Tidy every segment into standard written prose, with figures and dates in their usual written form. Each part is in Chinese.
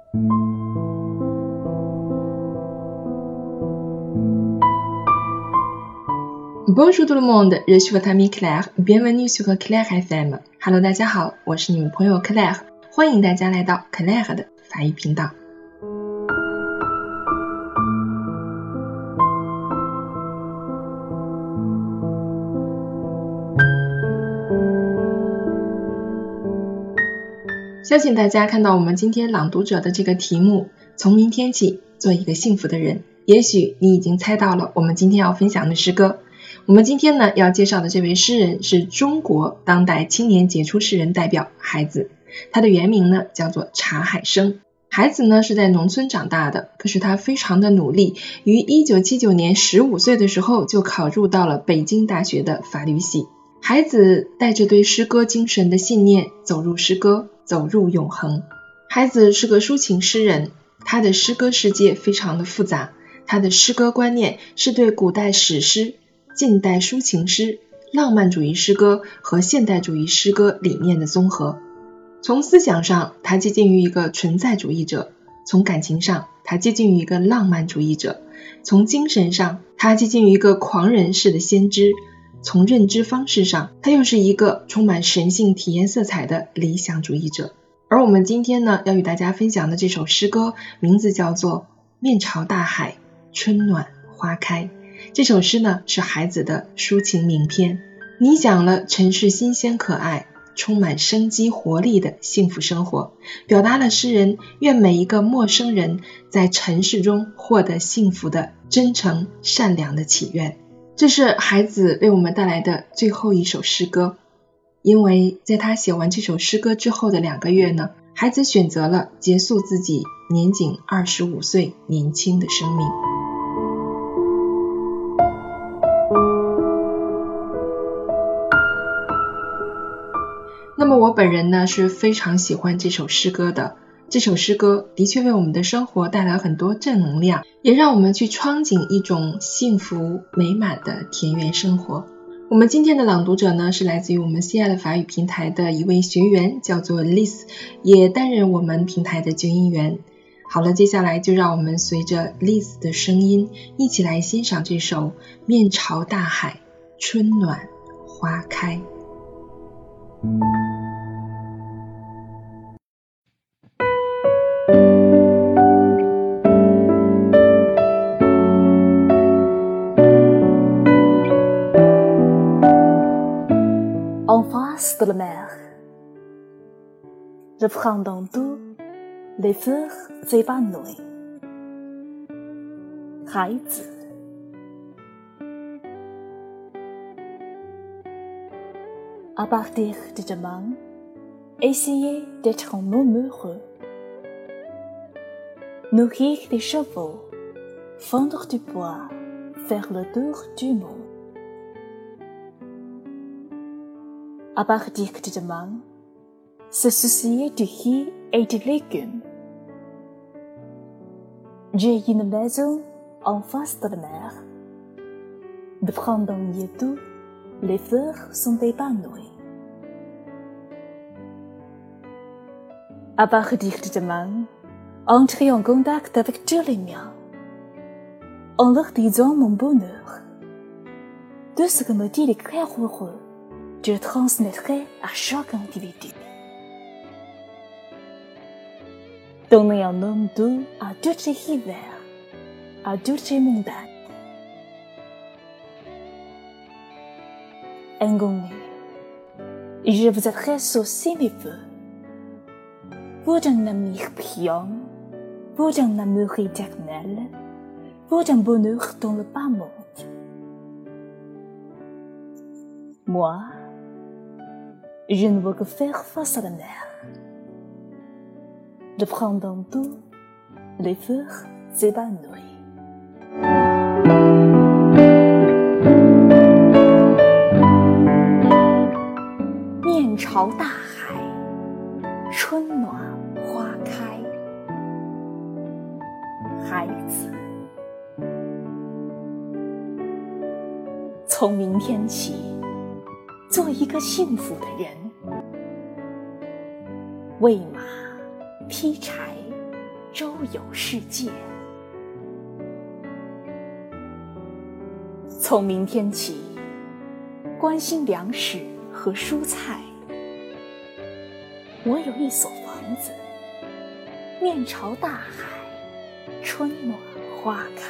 Bonjour tout le monde, je suis votre amie Claire, bienvenue sur Claire FM. Hello， 大家好，我是你们朋友 Claire， 欢迎大家来到 Claire 的法语频道。相信大家看到我们今天朗读者的这个题目，从明天起做一个幸福的人，也许你已经猜到了我们今天要分享的诗歌。我们今天呢要介绍的这位诗人是中国当代青年杰出诗人代表海子，他的原名呢叫做查海生。海子呢是在农村长大的，可是他非常的努力，于1979年15岁的时候就考入到了北京大学的法律系。海子带着对诗歌精神的信念走入诗歌，走入永恒。海子是个抒情诗人，他的诗歌世界非常的复杂，他的诗歌观念是对古代史诗、近代抒情诗、浪漫主义诗歌和现代主义诗歌理念的综合。从思想上，他接近于一个存在主义者；从感情上，他接近于一个浪漫主义者；从精神上，他接近于一个狂人式的先知；从认知方式上，他又是一个充满神性体验色彩的理想主义者。而我们今天呢，要与大家分享的这首诗歌，名字叫做《面朝大海，春暖花开》。这首诗呢，是海子的抒情名篇，你讲了城市新鲜可爱、充满生机活力的幸福生活，表达了诗人愿每一个陌生人在尘世中获得幸福的真诚善良的祈愿。这是海子为我们带来的最后一首诗歌，因为在他写完这首诗歌之后的2个月呢，海子选择了结束自己年仅25岁年轻的生命。那么我本人呢是非常喜欢这首诗歌的，这首诗歌的确为我们的生活带来很多正能量，也让我们去憧憬一种幸福美满的田园生活。我们今天的朗读者呢是来自于我们 CI 法语平台的一位学员，叫做 Liz， 也担任我们平台的纠音员。好了，接下来就让我们随着 Liz 的声音一起来欣赏这首面朝大海，春暖花开。 En face de la mer, le printemps doux, les fleurs s'évanouissent. 孩子 À partir de demain, essayez d'être un homme heureux. Nourrir des chevaux, fendre du bois, faire le tour du monde. À partir de demain, se soucier du riz et des légumes. J'ai une maison en face de la mer. Le printemps y est doux, les fleurs sont épanouies. À partir de demain, entrez en contact avec tous les miens, en leur disant mon bonheur. Tout ce que me dit les cœurs heureux, je le transmettrai à chaque individu. Donnez un homme doux à toutes les rivières, à toutes les montagnes. Inconnu, je vous adresse aussi mes vœux. Pour un amour brillant, pour un amour éternel, pour un bonheur dans le bas monde. Moi, je ne veux que faire face à la mer. Le printemps doux, les fleurs s'épanouissent. 面朝大海，春暖花开。孩子，从明天起，做一个幸福的人。喂马，劈柴， 周游世界。从明天起，关心粮食和蔬菜。我有一所房子，面朝大海，春暖花开。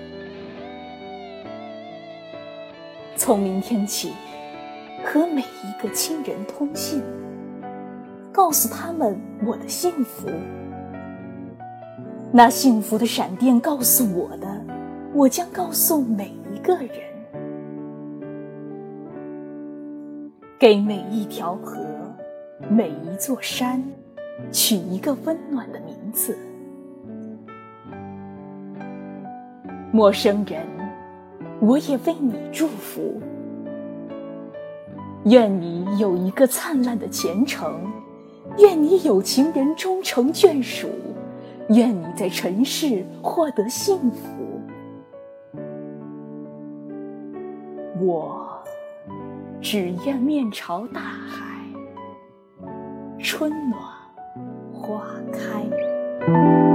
从明天起，和每一个亲人通信，告诉他们我的幸福。那幸福的闪电告诉我的，我将告诉每一个人。给每一条河，每一座山，取一个温暖的名字。陌生人，我也为你祝福。愿你有一个灿烂的前程，愿你有情人终成眷属，愿你在尘世获得幸福。我只愿面朝大海，春暖花开。